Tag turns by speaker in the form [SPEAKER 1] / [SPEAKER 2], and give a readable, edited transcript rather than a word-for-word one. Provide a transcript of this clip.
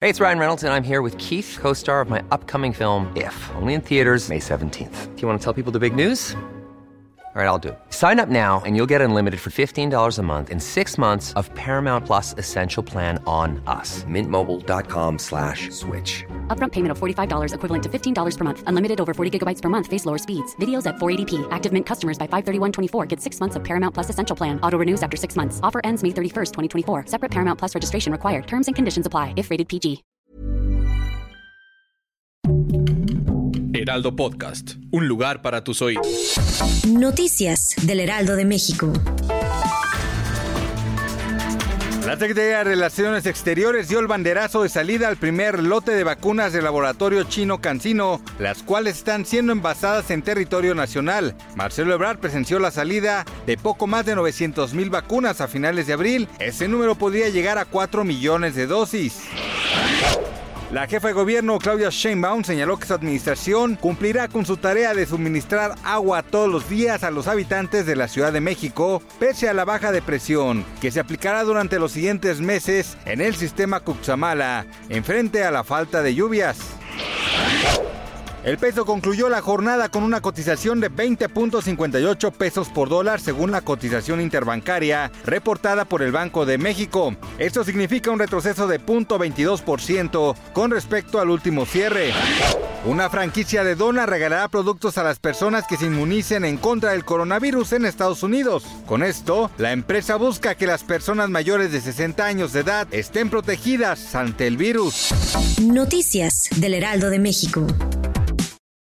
[SPEAKER 1] Hey, it's Ryan Reynolds, and I'm here with Keith, co-star of my upcoming film, If, only in theaters May 17th. Do you want to tell people the big news? All right, I'll do it. Sign up now and you'll get unlimited for $15 a month and 6 months of Paramount Plus Essential Plan on us. MintMobile.com/switch.
[SPEAKER 2] Upfront payment of $45 equivalent to $15 per month. Unlimited over 40 gigabytes per month. Face lower speeds. Videos at 480p. Active Mint customers by 531.24 get 6 months of Paramount Plus Essential Plan. Auto renews after 6 months. Offer ends May 31st, 2024. Separate Paramount Plus registration required. Terms and conditions apply if rated PG.
[SPEAKER 3] Heraldo Podcast, un lugar para tus oídos.
[SPEAKER 4] Noticias del Heraldo de México.
[SPEAKER 5] La Secretaría de Relaciones Exteriores dio el banderazo de salida al primer lote de vacunas del laboratorio chino CanSino, las cuales están siendo envasadas en territorio nacional. Marcelo Ebrard presenció la salida de poco más de 900,000 vacunas a finales de abril. Ese número podría llegar a 4 millones de dosis. La jefa de gobierno, Claudia Sheinbaum, señaló que su administración cumplirá con su tarea de suministrar agua todos los días a los habitantes de la Ciudad de México, pese a la baja de presión que se aplicará durante los siguientes meses en el sistema Cutzamala, en frente a la falta de lluvias. El peso concluyó la jornada con una cotización de 20.58 pesos por dólar según la cotización interbancaria reportada por el Banco de México. Esto significa un retroceso de 0.22% con respecto al último cierre. Una franquicia de Dona regalará productos a las personas que se inmunicen en contra del coronavirus en Estados Unidos. Con esto, la empresa busca que las personas mayores de 60 años de edad estén protegidas ante el virus.
[SPEAKER 4] Noticias del Heraldo de México.